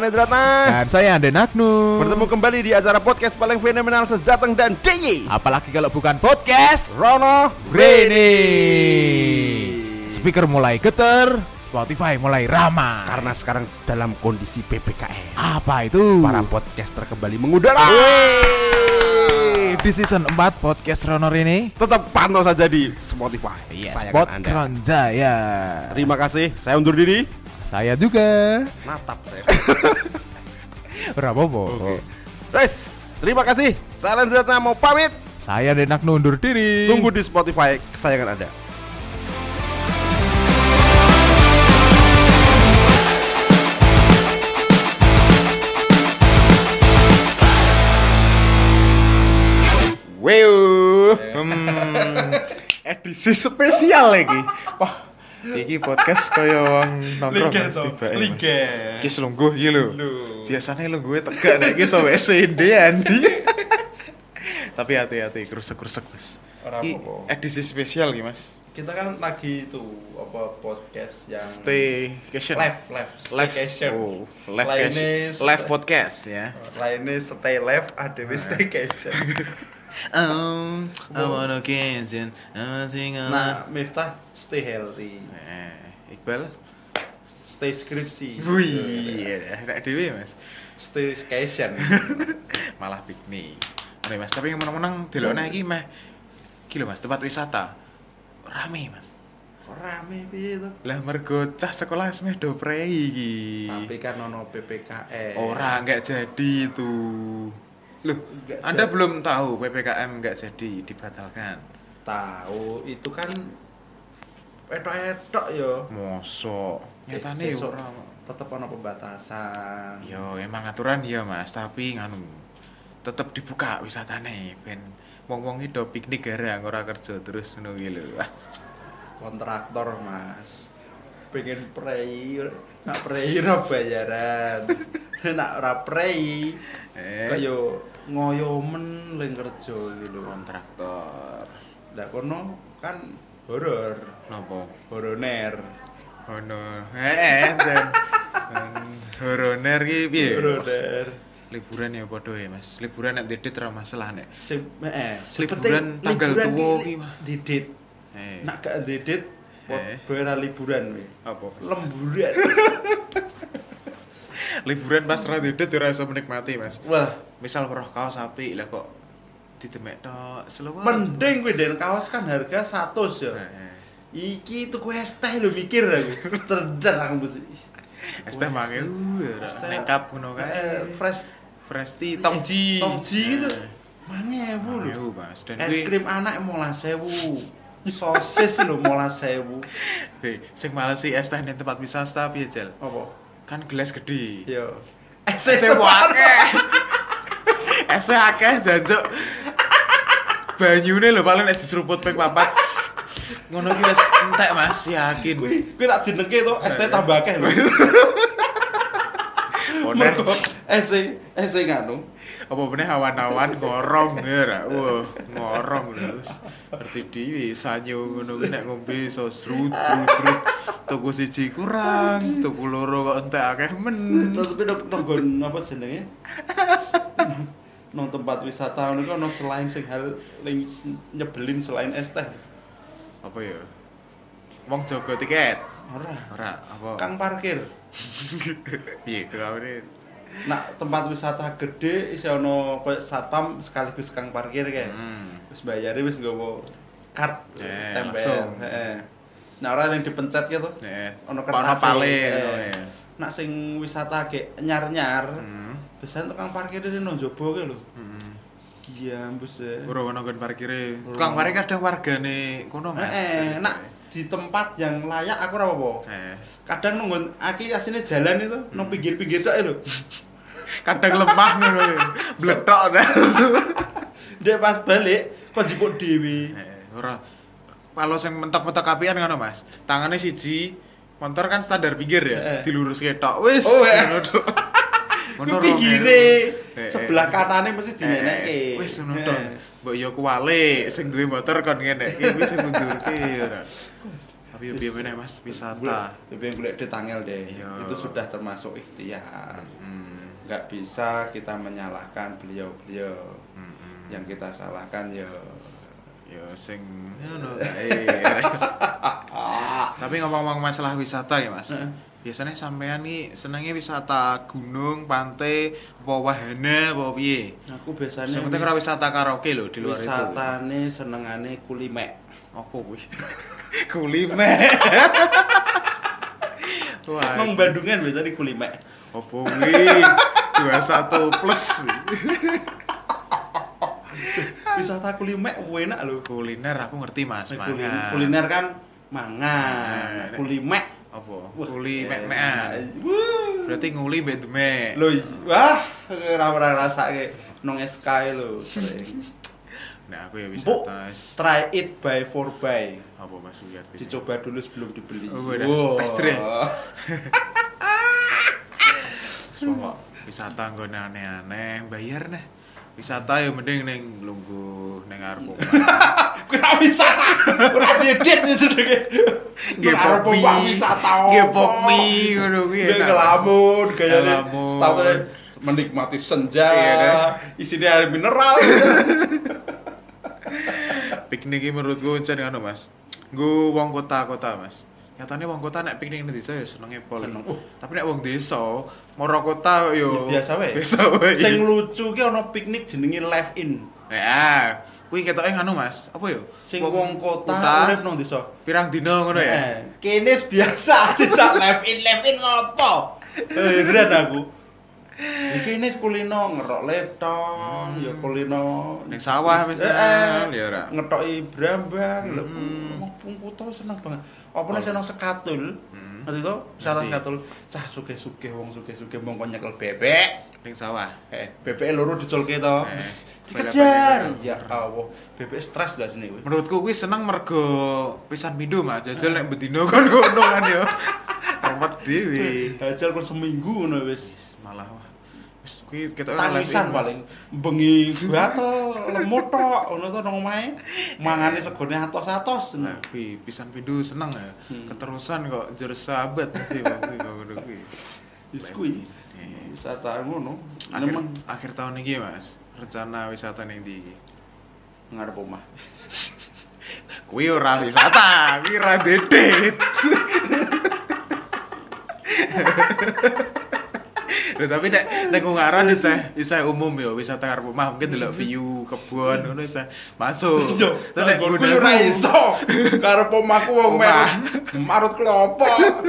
Endratna. Dan saya Ande Nagnu. Bertemu kembali di acara podcast paling fenomenal sejateng dan DIY. Apalagi kalau bukan podcast Rono Rene. Speaker mulai getar, Spotify mulai ramah. Karena sekarang dalam kondisi PPKM. Apa itu? Para podcaster kembali mengudara. Di season 4 podcast Rono Rene. Tetap pantau saja di Spotify. Spot Kronjaya. Terima kasih. Saya undur diri. Saya juga. Natap saya. Rapopo. Oke. Guys, terima kasih. Saya Endratna mau pamit. Saya Ande Nagnu undur diri. Tunggu di Spotify kesayangan Anda. Edisi spesial lagi. Wah, iki podcast kaya wong nongkrong tiba. Iki selungguh iki lho. Biasane lungguhe tegak nek iki sampe sendean. Tapi hati-hati krusek-krusek, Mas. Iki edisi spesial iki, Mas. Kita kan lagi itu podcast yang Staycation. staycation. Oh, live podcast ya. Lainnya stay live, ada staycation. I wanna cancel. Nah, Miftah stay healthy, Iqbal. stay skripsi. Wih, nek dhewe, Mas. Staycation. Malah piknik. Oke, Mas, tapi menang-menang delokne iki meh iki lho, Mas, tempat wisata. Rame, Mas. Kok rame piye to? Lah mergo cah sekolah wis meh do prei iki. Tapi kan ono PPKM. Ora enggak jadi itu. Loh, Nggak Anda jadi. belum tahu PPKM enggak jadi dibatalkan. Tahu itu kan etok-etok yo. Mosok nyatane Sesuk ora. tetep ono pembatasan. Yo emang aturan ya, Mas, tapi nganu tetep dibuka wisatane ben wong-wong iki do piknik garang ora kerja terus ngono iki lho. Ah, Kontraktor, Mas. Pengen prei, nak prei ora bayaran. Nak ora prei kaya ngoyomen ling kerja iki lho. kontraktor. Lah kono kan horor, Napa? horoner. Ono. Jan. Horoner ki piye? Horoner. Liburan ya padha ya, Mas. Liburan nek didit ora masalah nek. Liburan tanggal tuwa ki, Mas. didit. Nak gak didit bayar liburan we. Apa? Lemburan. Liburan pas ra didit ora iso menikmati, Mas. Wah, Misal weruh kaos apik lah kok didemek tok selewat. mending kuwi den kaos kan harga 100 ya. Iki tuku es teh lho mikir aku. Terdan aku mesti. Es teh mange Es teh lengkap ngono kae. fresh tea tongji. Tongji gitu. Mangewu lho. Ayo, Mas. Dan Es krim anak 15.000. Sosis lho 15.000. sing males sih es teh ning tempat wisata piye, Jel? Apa? Kan gelas gede. Yo. Es Esnya akeh. Esnya akeh jancuk. Banyune lho paling nek diseruput ping 4. Ngono ki wis entek, Mas, yakin. Kuwi nak dinengke to es teh tambah akeh lho. Mergo es nganu. Apa meneh awan-awan ngorong ya ra. Wah, ngorong lho wis. Ngerti dhewe sanyo ngono ki nek ngombe iso srut-srut. Tuku siji kurang, tuku loro kok entek akeh men. Tapi nonggon apa jenenge? Nang tempat wisata ngono ono selain sing hal nyebelin selain es teh. Apa ya? Wong jaga tiket. Ora. Apa? Kang parkir. Piye kawene? Nak tempat wisata gede isi ono koyo satpam sekaligus kang parkir kae. Wis bayare wis nggowo card tempel. Langsung. Heeh. Nah ora yang dipencet gitu. Ono kertas kertas pale. Nak sing wisata ge nyar-nyar. Biasane tukang parkir ini nang njaba ki lho. Iya, mbus e. Ora ono nggon parkire. Tukang parkir kadang wargane kono, Mas. Nak di tempat yang layak aku ora apa-apa. Kadang nunggu aki asine jalan itu nang pinggir-pinggir tok lho. Kadang lemah ngono. Bletok ta. Dek pas balik kok jipuk dhewe. Ora. Kalau sing mentok-mentok apian ngono, Mas. Tangane siji, motor kan standar pinggir ya, diluruske tok. Wis. Ngono tok. Ngono pinggire sebelah kanane mesti dinenekke. Wis ngono tok. Mbok yo kuwalik sing duwe motor kon ngene iki wis mundurke ora. Tapi yo piye meneh Mas, wisata. Lebih golek duit angel deh. Iya. Itu sudah termasuk ikhtiar. Nggak bisa kita menyalahkan beliau-beliau. Yang kita salahkan ya Sing ngono kae. Tapi ngomong-ngomong masalah wisata ya Mas. Biasanya sampean nih senengnya wisata gunung, pantai, apa wahana, apa piye? aku biasanya Sing penting ora wisata karaoke lho di luar itu. wisatane senengane kulimek. Apa kuwi? Kulimek. Wah. Nang Bandungan biasanya kulimek. Apa kuwi? 21 plus. Wisata kulimek enak lho. Kuliner aku ngerti Mas, mangan. Kuliner kan mangan. Kulimek Apa? Kuli mek-mekan. Berarti nguli mbek demek. lho, wah, ora rasake nang SK lho sering. Nah, aku ya Empuk, wisata. try it by 4 by. Apa Mas kuwi artinya? Dicoba dulu sebelum dibeli. Oh, udah. Tester ya? Semua wisata nggone aneh-aneh, bayar nah. Wisata ya mending ning lungguh ning arep omah. Kuwi ora wisata. Ora diedit jenenge. Nggih popi. Wisata. Nggih popi ngono kuwi. Nggih ngelamun gayane. Ngelamun. Setahun menikmati senja. Iya, kan? Isinya air mineral. Piknik iki menurutku encen ngono Mas. Nggo wong kota-kota Mas. Nyatane wong kota nek piknik ning desa ya senenge pol. Seneng. Tapi nek wong desa, moro kota yo Ya, biasa wae. Biasa wae. Sing lucu ki ana piknik jenenge live in. Ya, kuwi ketoke ngono Mas. Apa yo? Sing wong kota urip nang desa. Pirang dina ngono ya? Kene biasa dijak live in ngopo? Heran aku. Iki ini kulino ngerok letong, ya kulino Ning sawah misal ya ora. ngetoki brambang, lho. Wong kota seneng banget. Apa nek seneng sekatul? Ngerti to? Wisata Ngerti. sekatul. Cah sugih-sugih wong sugih-sugih mongko nyekel bebek. Ning sawah. Bebeke loro diculke to. Eh, Wis balik-balik dikejar. to. Ya Allah, bebek stres lah sini kuwi. Menurutku kuwi seneng mergo pisan pindho Mas. Jajal nek bedino kon ngono kan yo. Repot dhewe. Hajal kon seminggu ngono wis. Malah wah. Wis kuwi ketoke Tangisan paling bengi gatel lemut tok ngono to nang omahe mangane segone atos-atos. Nah, kuwi pisan pindho seneng ya. Keterusan kok jer sahabat mesti kuwi kok ngono kuwi. Wis kuwi wisata ngono. Akhir tahun iki Mas, rencana wisata ning ndi iki? Ngarep omah. Kuwi ora wisata, kuwi ra dedet. Lho tapi nek Ungaran isih umum ya wisata karo omah mungkin delok view kebon ngono isih masuk. Terus nek kuwi ora iso. Karep omahku wong marut klopo.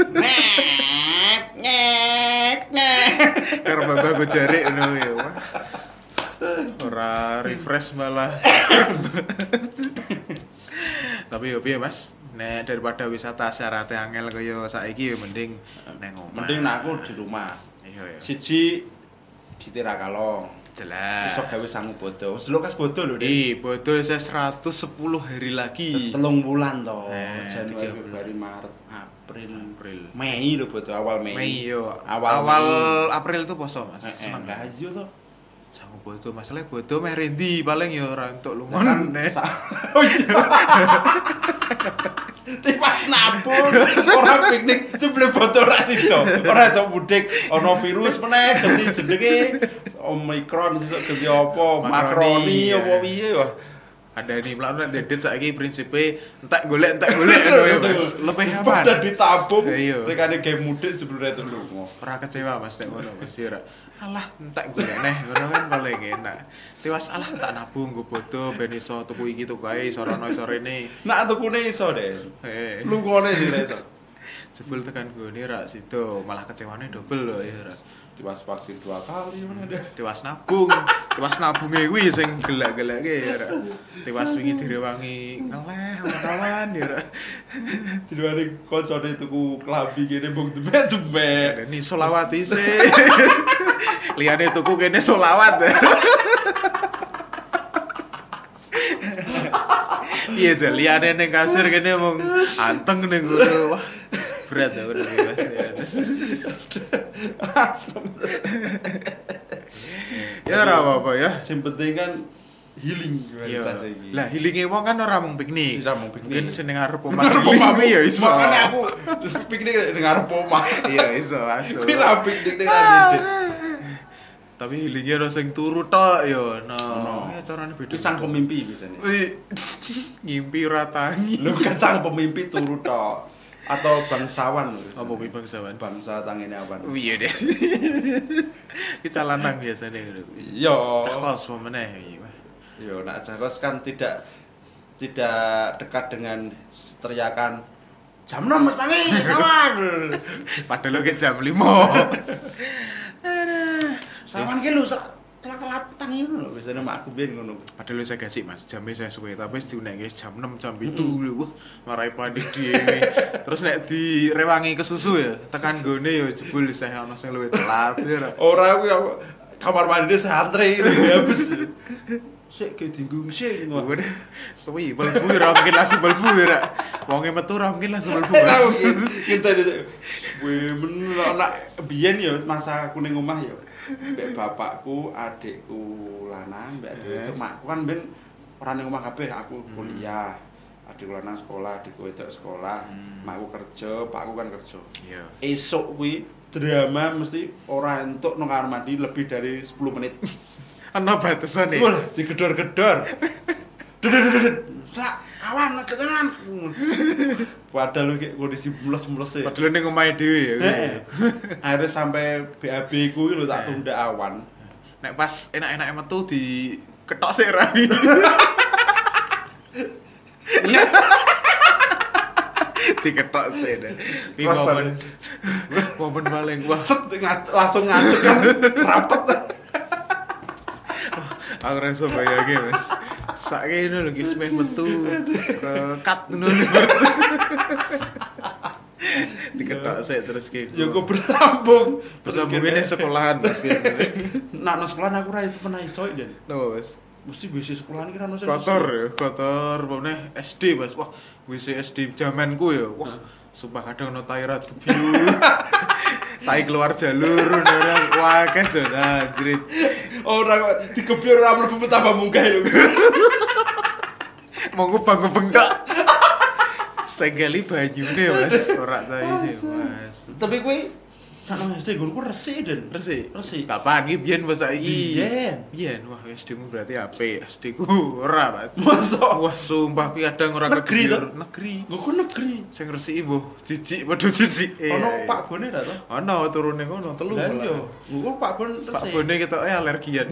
Net. Karo mbah jarik ngono ya. Ora refresh malah. Tapi yo piye Mas? Nek daripada wisata syaratnya angel kaya saiki yo mending nang omah. Mending nek aku di rumah. Iya. Siji di Tirakalong. Jelas. Iso gawe sangu bodo. Wis lukas bodo lho, Dik. Bodo saya 110 hari lagi. 3 bulan to. Januari, 3 Februari, Maret, April, April. Mei lho bodo awal Mei. Mei yo. Awal Awal Mei. April tuh poso Mas. Seneng Seneng. lah iya to. Sangu bodo masalah bodo meh rendi paling yo ora entuk Kan lungon. oh iya. Tipas nabung ora piknik sebelum bodo ra sido. Ora entuk mudik ana virus meneh ganti jenenge Omicron sesuk ganti apa? Makroni ya. apa piye wah. Ada nih pelan nek dedet saiki prinsipe entek golek ngono ya Mas. Lebih aman. Pada ditabung. Iya. Rekane game mudik sebelum itu lunga. Ora kecewa Mas nek ngono Mas ya ora. Alah entek golek neh ngono kan paling enak. Tiwas alah tak nabung nggo bodo ben iso tuku iki tuku ae iso rono iso rene. Nak tukune iso deh. Heeh. Lungone sih ra iso. Jebul tekan gone ra sido malah kecewane double lho ya ora. Tiwas vaksin 2 kali mana deh. Tiwas nabunge kuwi sing gelak-gelake ya ora. Tiwas wingi direwangi ngeleh kawan ya ora. Diluane koncone tuku klambi kene mbung debet. Ini solawat isih. Liyane tuku kene solawat. Iya aja liyane ning kasir kene mung anteng ning ngono. Wah, berat ya udah Mas. Asem. Ya ora apa-apa ya. Sing penting kan healing Iya. jasa iki. Lah healinge wong kan ora mung piknik. Ora mung piknik. Mungkin sing ning arep omah Ngarep healing omahmu ya iso. Makane aku piknik ning ngarep omah. Iya iso asu. Kuwi ra piknik ning Radit. Tapi healinge ono sing turu tok ya. Ono. Ya carane beda. Iki sang pemimpi biasanya. Ngimpi ora tangi. Lu kan sang pemimpi turu tok atau bangsawan. Apa kuwi bangsawan? Bangsa tangene awan. Iya deh. Ki calanang biasane ngono. Iya. Cakos apa meneh. Yo, nak Jakos kan tidak dekat dengan teriakan jam 6 wis tangi sawan. Padahal lo ke jam 5. Sawan ki lho telat-telat tangi lho biasane mak aku biyen ngono. Padahal saya gaji mas, jamnya saya suwe, tapi diunekke jam 6 jam 7 lho. Wah, marai panik dhewe. Terus nek direwangi ke susu ya, tekan gone ya jebul saya ono sing luwih telat ya. Ora kuwi kamar mandi santri habis. Sik ke dinggung sik ngono. Waduh, suwi belbu ora mungkin langsung belbu ya. Wonge metu ora mungkin langsung belbu. Kita bener anak biyen ya masa aku ning omah ya. Mbek bapakku, adikku lanang, mbek adikku itu makku kan ben ora ning omah kabeh, aku kuliah. Adikku lanang sekolah, adikku wedok sekolah, makku kerja, pakku kan kerja. Iya. Esuk kuwi drama mesti ora entuk nang kamar mandi lebih dari 10 menit. Ana batasane. Wah, digedor-gedor. Sak, kawan tenan. Padahal iki kondisi mules-mules e. Padahal ning omahe dhewe ya. Akhirnya sampai BAB ku lho tak tunda awan. Nek pas enak-enake metu di ketok sik rami. Diketok sik deh. Iki momen paling wah. Set langsung ngadeg kan rapet. Aku rasa bayangin mas. Saiki ngono lho guys meh metu cut ngono. Diketok sik terus ki. Ya kok bersambung. Bersambungnya sekolahan mas biasanya. Nak nang sekolahan aku ora itu pernah iso den. Napa mas? Mesti WC sekolahan iki ra ono sing Kotor ya, kotor. Pokoknya SD mas. Wah WC SD zamanku ya. Wah sumpah kadang ono tairat kebiru. Tai keluar jalur orang wah kan zona jrit. Ora kok dikebyur ora mlebu tambah munggah lho. Mau ngubang-ngubeng tok. Senggeli banyune mas, ora ta ini mas. Tapi kuwi nak nang SD gonku resik den. Resik. Resik. Kapan iki biyen mas saiki? Biyen. Biyen wah SD-mu berarti apik. SD-ku ora mas. Masa Wah sumpah kuwi kadang ora Negeri kebyur. to? Negeri. Gonku negeri. Sing resiki mbuh jijik padha jijik. Ono Pak Bone ra to? Ono turune ngono telu. Lah malah. iya, gonku Pak Bon Pak resik. Bone ketoke alergian.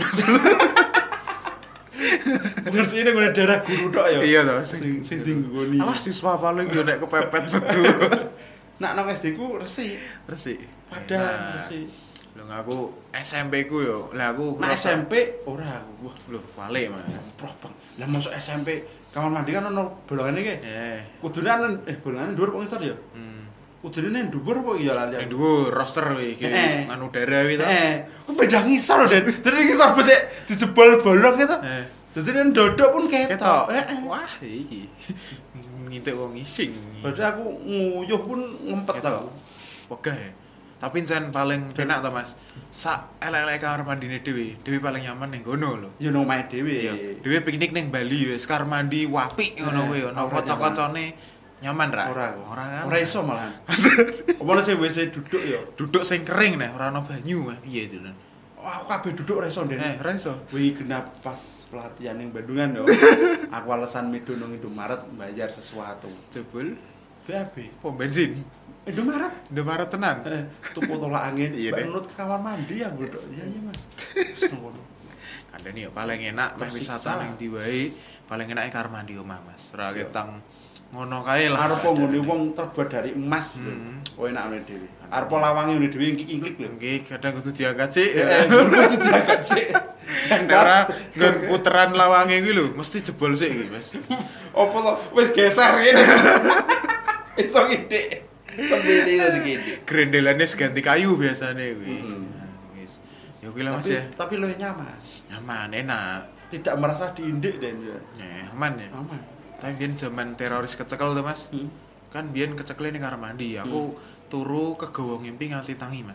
Ngersine ngene daerah guru tok ya. Iya to, Sing dinggoni. alah siswa paling yo nek kepepet metu. Nak nang SD ku resik. Resik. Padahal resik. Lho aku SMP ku yo. Lah aku Nak ngerasa- SMP ora aku. Wah, Loh, balik mas. proh bang. Lah masuk SMP kamar mandi kan ono bolongane ki. Kudune bolongane dhuwur apa ngisor ya? Kudune nang dhuwur apa iya lali. Yang dhuwur roster kuwi iki nganu udara kuwi to. Ku beda ngisor Den. Dadi ngisor becik dijebol bolong gitu. Dadi nang dodok pun ketok. Wah, iki. Ngintik wong ngising. Padahal aku nguyuh pun ngempet aku. Wegah ya. Tapi jan paling penak to Mas. Sak elek-elek kamar mandine dhewe. Dhewe paling nyaman ning kono lho. Ya nang omahe dhewe. Dhewe piknik ning Bali wis kamar mandi apik ngono kuwi ono ora kanca-kancane nyaman ra? Ora kan. Ora iso malahan. Apa sing WC duduk ya? Duduk sing kering nih, ora ono banyu mah. Piye itu, Lon? Wah, aku kabeh duduk ora iso Den. Ora iso. Wih, genap pas pelatihan ning Bandungan yo. Aku alasan medo nang Indomaret bayar sesuatu. Jebul BAB. pom bensin. Indomaret. Indomaret tenan. Tuku tolak angin. Iya, Mbak deh. Nut ke kamar mandi ya, Bro. Iya, Mas. Ngono. Kandani ya paling enak meh Tersiksa. wisata ning ndi wae, paling enak kamar mandi omah, Mas. Ora ketang ngono kae lah. Arep ngene wong terbuat dari emas lho. Oh enak ngene dhewe. Arep lawange ngene dhewe ingkik-ingklik lho. Nggih, kadang kudu diangkat sik. Kudu diangkat sik. Ora nggon puteran lawange kuwi lho, mesti jebol sik iki, Mas. Apa to? Wis geser ngene. Iso ngidek. Sendiri iso ngidek. Grendelane ganti kayu biasane kuwi. Wis. Ya kuwi lah Mas ya. Tapi luwih nyaman. Nyaman, enak. Tidak merasa diindik Den ya. Aman ya. Aman. Tapi biyen zaman teroris kecekel tuh Mas. Kan biyen kecekel ning kamar mandi. Aku turu kegawa ngimpi nganti tangi Mas.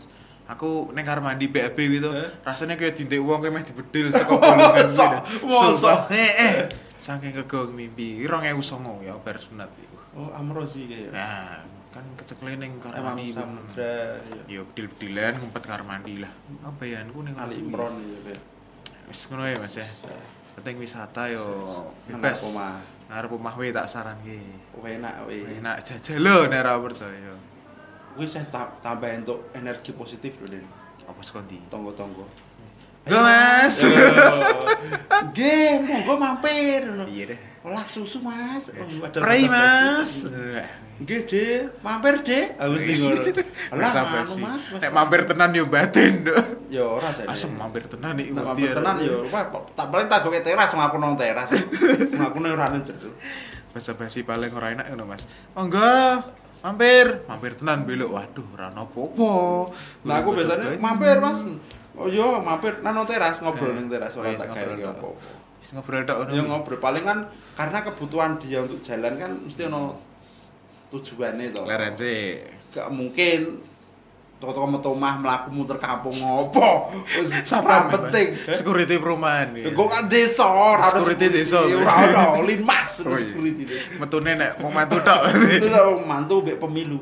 Aku ning kamar mandi BAB gitu, rasanya kayak dintek wong kayak meh dibedil saka bolongan gitu. Mosok. Saking kegong mimpi, 2009 ya bar sunat iku. Oh, Amrozi kayak. Nah, kan keceklene ning kamar Emang mandi. samudra Ya ya. bedil-bedilan ngumpet kamar mandi lah. Apa ya niku ning Ali Imron ya. Wis ngono ya Mas ya. Penting wisata yo Ngarep bebas. omah. Ngarep omah we tak saranke. Enak we. Enak jajal lho nek ora percaya. Kuwi saya tambah untuk energi positif lho, Den. Apa sekondi? Tonggo-tonggo. Go Mas. Nggih, monggo mampir. Iya deh. Olah susu, Mas. Ada Prei basa-basi. Mas. Nggih, Dek. Mampir, Dek. Aku mesti ngono. Alah, anu, Mas. Nek mampir tenan yo batin, Dok. Ya ora jane. Asem mampir tenan iki. Nek mampir tenan yo, tak paling tak gawe teras ngaku nang teras. Ngaku nang ora nang jero. Basa-basi paling ora enak ngono, Mas. Monggo. Mampir tenan belok. Waduh, ora ono apa-apa. Nah, aku biasanya mampir, Mas. Oh iya, mampir nang teras ngobrol ning teras ora tak gawe apa-apa. Wis ngobrol tok ngono. Ya ngobrol paling kan karena kebutuhan dia untuk jalan kan mesti ono tujuannya to. Lerense. Gak mungkin toko-toko metu omah mlaku muter kampung ngopo. Wis Sapam penting. Security perumahan. Kok kan desa ora Security desa. Ora ono linmas security. Metune nek wong mantu tok. Itu wong mantu mbek pemilu.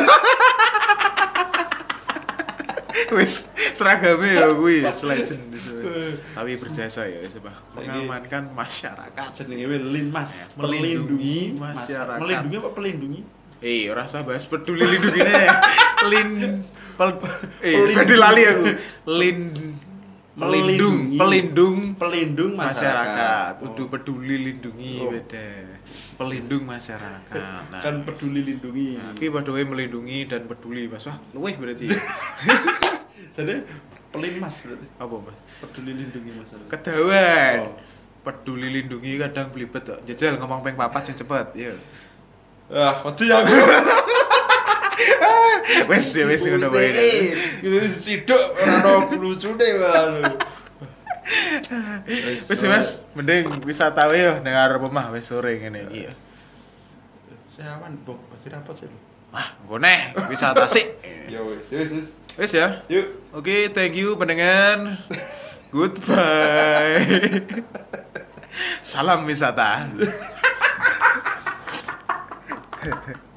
Wis seragame ya kuwi legend. Tapi berjasa ya wis Pak. Mengamankan masyarakat. Jenenge linmas, Melindungi melindungi masyarakat. Melindungi apa pelindungi? Ora usah bahas peduli lindungine. Peduli lali aku. Pelindung masyarakat. Kudu peduli lindungi beda. Pelindung masyarakat. Nah, Kan peduli lindungi. iki padha wae melindungi dan peduli Mas. Wah, luweh berarti. Jadi pelinmas berarti. Apa, Mas? Peduli lindungi masyarakat. Kedawan. Oh. Peduli lindungi kadang blibet kok. Jajal ngomong ping 4 sing cepet, ya. Ah, wedi aku. Wes ngono wae. Gitu siduk ora ono lucune wae. Wis Mas, mending wisata wae yo ning arep omah wis sore ngene iki. Seawan, Bok. Bagi rapat sih. Wah, nggo neh wisata sik. Ya wis. Wis ya. Yuk. Oke, thank you pendengar. Goodbye. Salam wisata.